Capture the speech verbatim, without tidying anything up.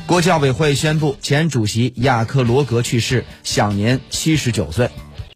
国际奥委会宣布，前主席雅克罗格去世，享年七十九岁。